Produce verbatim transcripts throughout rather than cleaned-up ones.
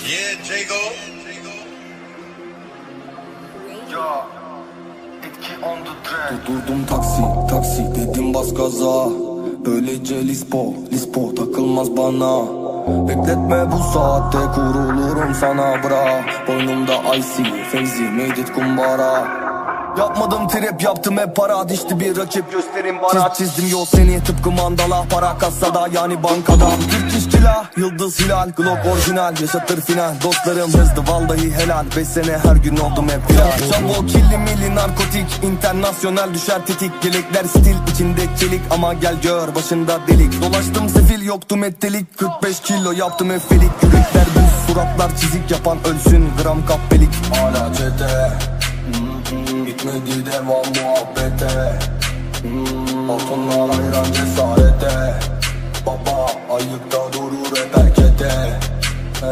Yeah, Jago. Ya, etki on the track. Durdum taksi, taksi dedim bas gaza. Böylece lispo, lispo takılmaz bana. Bekletme bu saatte kurulurum sana bra. Boynumda icy, Fevzi, made it kumbara. Yapmadım trap, yaptım hep para. Dişti bir rakip, gösterin bana. Çiz, çizdim yol seni tıpkı mandala. Para kasada yani bankada. Türk işçila, yıldız hilal. Glock orijinal, yaşatır final. Dostlarım hızlı vallahi helal. Beş sene her gün oldum hep viral. Çavo killi milli narkotik. İnternasyonel düşer tetik. Gelekler stil içinde çelik. Ama gel gör başında delik. Dolaştım sefil yoktu mettelik. kırk beş kilo yaptım efelik. Yürekler düz, suratlar çizik yapan ölsün. Gram kapbelik. Hala çete. Hmm, bitmedi devam muhabbete. hmm, Altınlar hayran cesarete. Baba ayıkta durur hep erkete. ee,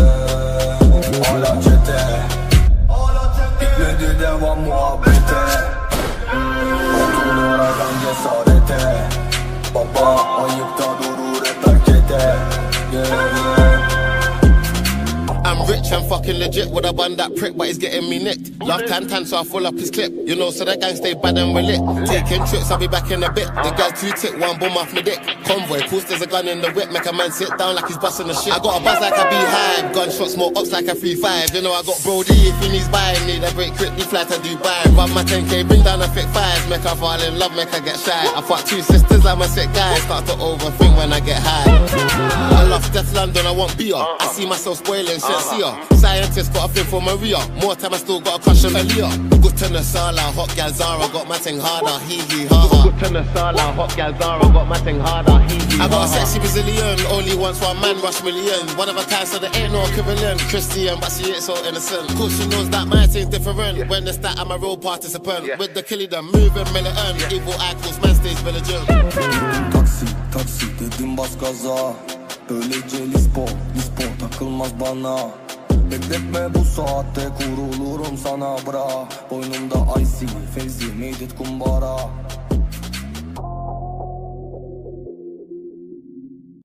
Hala çete. Bitmedi devam muhabbete. hmm, Altınlar hayran cesarete. Baba ayıkta durur hep erkete. Yeah, yeah. I'm rich and fucking legit with a bun that prick, but he's getting me nicked. Love tan tan, so I full up his clip. You know, so that gang stay bad and we're lit. Taking trips, I'll be back in a bit. The girl two tick, one boom off me dick. Convoy, pulls there's a gun in the whip, make a man sit down like he's busting the shit. I got a buzz like a beehive, gunshots, more ups like a three five. You know, I got Brody if he needs buying, need a break quickly, fly to Dubai. Run my ten K, bring down a thick fives, make her fall in love, make her get shy. I fuck two sisters, I'm a sick guy, start to overthink when I get high. I love Death London, I want beer. I see myself spoiling shit, see ya. Scientist got a thing for Maria. More time I still got a crush on Aaliyah. Good to Nasala, hot gal Zara, got my thing harder, hee hee ha ha. Good to Nasala, hot gal Zara, got my thing harder, hee hee ha ha. I got a sexy Brazilian, only once one man rush million. One of a kind, so there ain't no equivalent. Christian, but she ain't so innocent. Cause she knows that my thing's different. Yeah. When it's that I'm a real participant. Yeah. With the killie them moving militant. Yeah. Evil icons, man stays vigilant. Taksi, taksi dedim bas gaza. Böylece lispo, lispo takılmaz bana. Bekletme bu saatte kurulurum sana bra. Boynumda icy, Fevzi, made it kumbara.